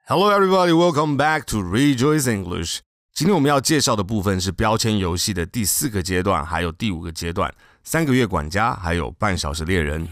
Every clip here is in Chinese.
Hello everybody, welcome back to Rejoice English. 今天我们要介绍的部分是标签游戏的第4个阶段，还有第5个阶段，3个月管家，还有半小时猎人。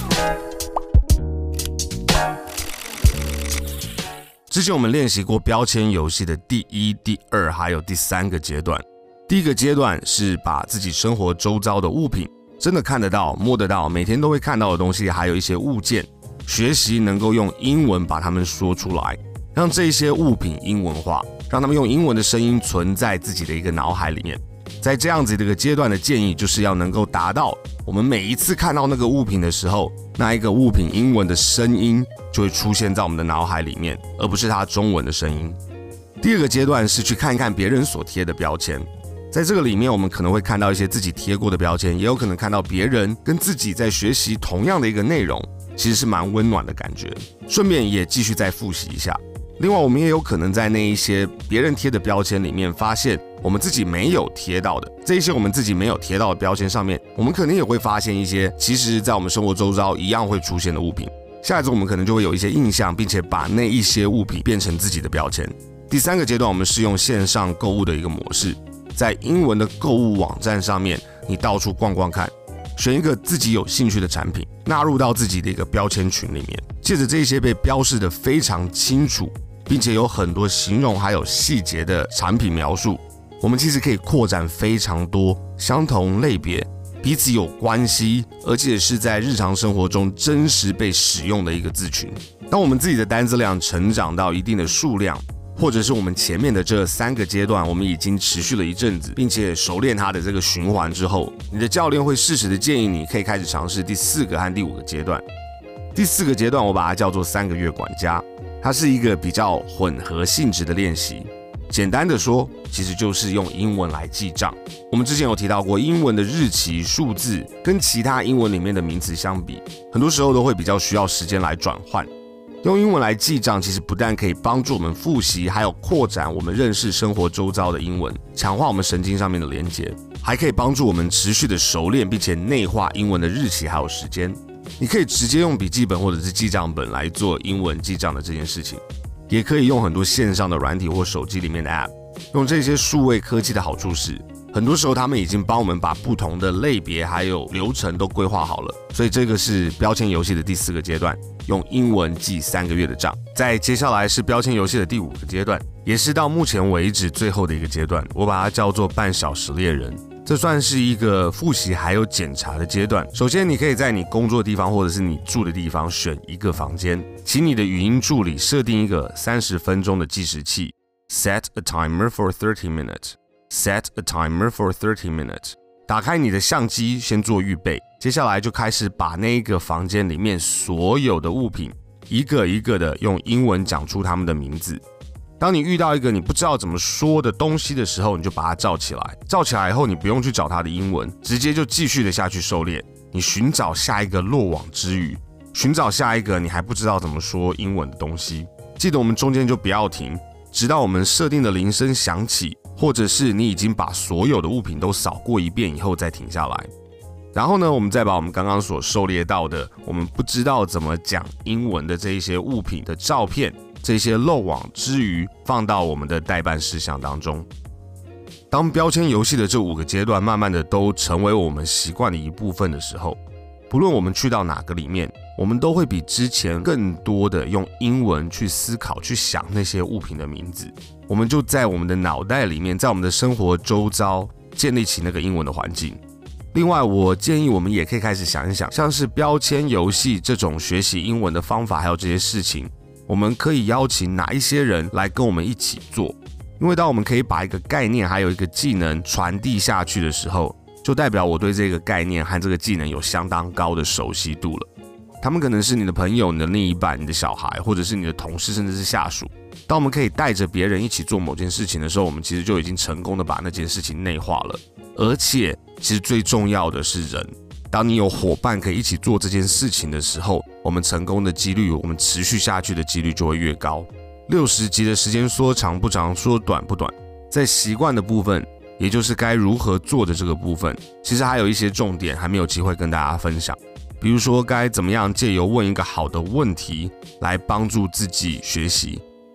之前我们练习过标签游戏的第1、第2，还有第3个阶段。第一个阶段是把自己生活周遭的物品，真的看得到、摸得到，每天都会看到的东西，还有一些物件，学习能够用英文把它们说出来，让这些物品英文化，让他们用英文的声音存在自己的一个脑海里面。在这样子的一个阶段的建议，就是要能够达到我们每一次看到那个物品的时候，那一个物品英文的声音就会出现在我们的脑海里面，而不是它中文的声音。第二个阶段是去看一看别人所贴的标签，在这个里面我们可能会看到一些自己贴过的标签，也有可能看到别人跟自己在学习同样的一个内容，其实是蛮温暖的感觉，顺便也继续再复习一下。另外我们也有可能在那一些别人贴的标签里面发现我们自己没有贴到的，这一些我们自己没有贴到的标签上面，我们可能也会发现一些其实在我们生活周遭一样会出现的物品。下一次我们可能就会有一些印象，并且把那一些物品变成自己的标签。第3个阶段我们是用线上购物的一个模式，在英文的购物网站上面你到处逛逛看，选一个自己有兴趣的产品，纳入到自己的一个标签群里面，借着这些被标示的非常清楚并且有很多形容还有细节的产品描述，我们其实可以扩展非常多相同类别、彼此有关系，而且是在日常生活中真实被使用的一个字群。当我们自己的单字量成长到一定的数量，或者是我们前面的这3个阶段我们已经持续了一阵子，并且熟练它的这个循环之后，你的教练会适时的建议你可以开始尝试第4个和第5个阶段。第4个阶段我把它叫做3个月管家，它是一个比较混合性质的练习。简单的说，其实就是用英文来记账。我们之前有提到过，英文的日期、数字跟其他英文里面的名词相比，很多时候都会比较需要时间来转换。用英文来记账，其实不但可以帮助我们复习，还有扩展我们认识生活周遭的英文，强化我们神经上面的连结，还可以帮助我们持续的熟练，并且内化英文的日期还有时间。你可以直接用笔记本或者是记账本来做英文记账的这件事情，也可以用很多线上的软体或手机里面的 App。 用这些数位科技的好处是，很多时候他们已经帮我们把不同的类别还有流程都规划好了，所以这个是标签游戏的第4个阶段，用英文记3个月的账。再接下来是标签游戏的第5个阶段，也是到目前为止最后的一个阶段，我把它叫做半小时猎人。这算是一个复习还有检查的阶段。首先你可以在你工作的地方或者是你住的地方选一个房间，请你的语音助理设定一个30分钟的计时器， Set a timer for 30 minutes Set a timer for 30 minutes。 打开你的相机先做预备，接下来就开始把那个房间里面所有的物品一个一个的用英文讲出他们的名字。当你遇到一个你不知道怎么说的东西的时候，你就把它罩起来，罩起来以后你不用去找它的英文，直接就继续的下去狩猎，你寻找下一个落网之鱼，寻找下一个你还不知道怎么说英文的东西。记得我们中间就不要停，直到我们设定的铃声响起，或者是你已经把所有的物品都扫过一遍以后再停下来。然后呢，我们再把我们刚刚所狩猎到的我们不知道怎么讲英文的这一些物品的照片，这些漏网之鱼放到我们的待办事项当中。当标签游戏的这5个阶段慢慢的都成为我们习惯的一部分的时候，不论我们去到哪个里面，我们都会比之前更多的用英文去思考去想那些物品的名字，我们就在我们的脑袋里面，在我们的生活周遭建立起那个英文的环境。另外我建议我们也可以开始想一想，像是标签游戏这种学习英文的方法还有这些事情，我们可以邀请哪一些人来跟我们一起做。因为当我们可以把一个概念还有一个技能传递下去的时候，就代表我对这个概念和这个技能有相当高的熟悉度了。他们可能是你的朋友、你的另一半、你的小孩，或者是你的同事，甚至是下属。当我们可以带着别人一起做某件事情的时候，我们其实就已经成功的把那件事情内化了。而且其实最重要的是人，当你有伙伴可以一起做这件事情的时候，我们成功的几率，我们持续下去的几率就会越高。60集的时间说长不长，说短不短，在习惯的部分，也就是该如何做的这个部分，其实还有一些重点还没有机会跟大家分享。比如说该怎么样借由问一个好的问题来帮助自己学习，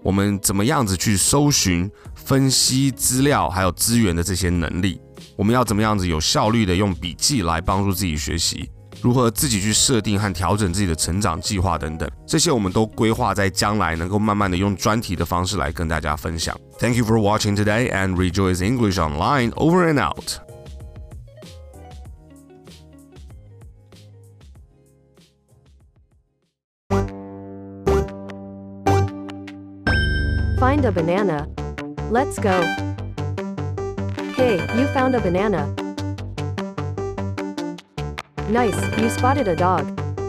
我们怎么样子去搜寻、分析资料还有资源的这些能力，我们要怎么样子有效率的用笔记来帮助自己学习，如何自己去设定和调整自己的成长计划等等，这些我们都规划在将来能够慢慢的用专题的方式来跟大家分享。Thank you for watching today and Rejoice English Online over and out. Find a banana. Let's go. Hey, you found a banana. Nice, you spotted a dog.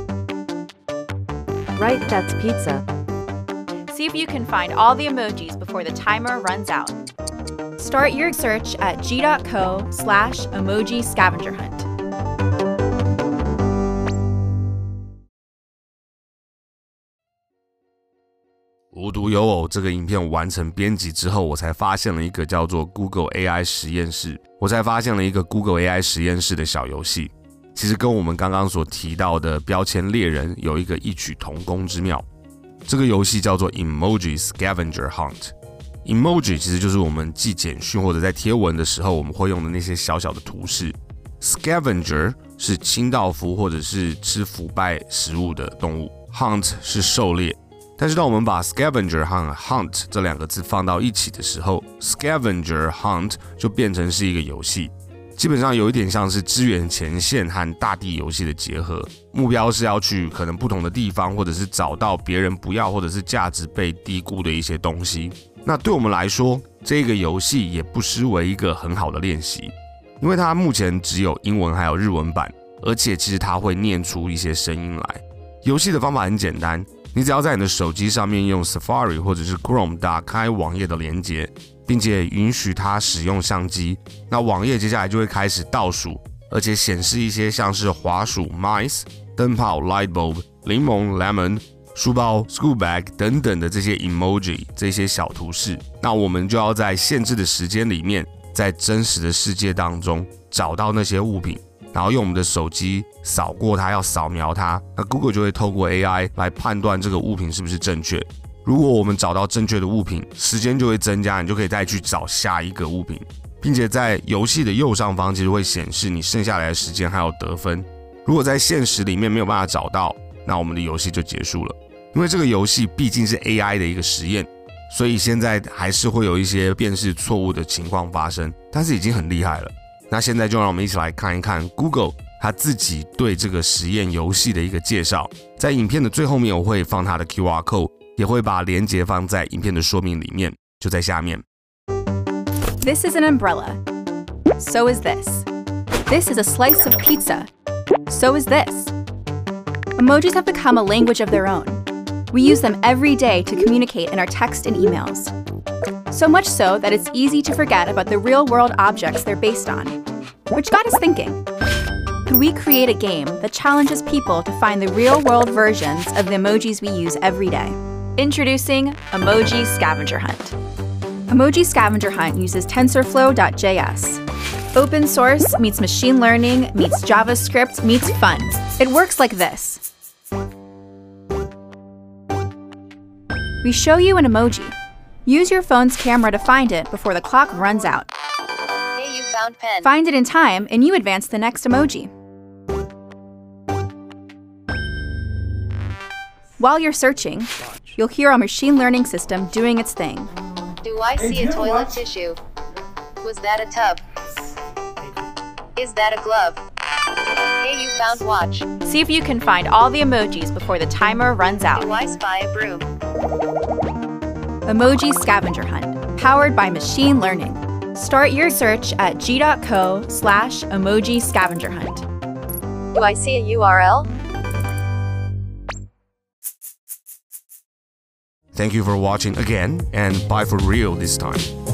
Right, that's pizza. See if you can find all the emojis before the timer runs out. Start your search at g.co/emoji scavenger hunt. 无独有偶，这个影片完成编辑之后，我才发现了一个叫做 Google AI 实验室，Google AI 实验室的小游戏，其实跟我们刚刚所提到的标签猎人有一个异曲同工之妙。这个游戏叫做 Emoji Scavenger Hunt。Emoji 其实就是我们寄简讯或者在贴文的时候我们会用的那些小小的图示。Scavenger 是清道夫或者是吃腐败食物的动物 ，Hunt 是狩猎。但是当我们把 scavenger 和 hunt 这两个字放到一起的时候 ，scavenger hunt 就变成是一个游戏，基本上有一点像是支援前线和大地游戏的结合。目标是要去可能不同的地方，或者是找到别人不要或者是价值被低估的一些东西。那对我们来说，这个游戏也不失为一个很好的练习，因为它目前只有英文还有日文版，而且其实它会念出一些声音来。游戏的方法很简单。你只要在你的手机上面用 Safari 或者是 Chrome 打开网页的连接，并且允许它使用相机，那网页接下来就会开始倒数，而且显示一些像是滑鼠 Mice、灯泡 Light Bulb、柠檬 Lemon、书包 School Bag 等等的这些 emoji 这些小图示。那我们就要在限制的时间里面，在真实的世界当中找到那些物品。然后用我们的手机扫过它，要扫描它，那 Google 就会透过 AI 来判断这个物品是不是正确。如果我们找到正确的物品，时间就会增加，你就可以再去找下一个物品，并且在游戏的右上方其实会显示你剩下来的时间还有得分。如果在现实里面没有办法找到，那我们的游戏就结束了。因为这个游戏毕竟是 AI 的一个实验，所以现在还是会有一些辨识错误的情况发生，但是已经很厉害了。那现在就让我们一起来看一看 Google 它自己对这个实验游戏的一个介绍。在影片的最后面我会放它的 QR code， 也会把连结放在影片的说明里面，就在下面。 This is an umbrella. So is this. This is a slice of pizza. So is this. Emojis have become a language of their own. We use them every day to communicate in our text and emails. So much so that it's easy to forget about the real-world objects they're based on. Which got us thinking, could we create a game that challenges people to find the real-world versions of the emojis we use every day? Introducing Emoji Scavenger Hunt. Emoji Scavenger Hunt uses TensorFlow.js. Open source meets machine learning meets JavaScript meets fun. It works like this. We show you an emoji. Use your phone's camera to find it before the clock runs out. Hey, you found pen. Find it in time, and you advance the next emoji. While you're searching, you'll hear our machine learning system doing its thing. Do I see a toilet tissue? Was that a tub? Is that a glove? Hey, you found watch. See if you can find all the emojis before the timer runs out. Do I spy a broom? Emoji Scavenger Hunt, powered by machine learning. Start your search at g.co/emoji scavenger hunt. Do I see a URL? Thank you for watching again, and bye for real this time.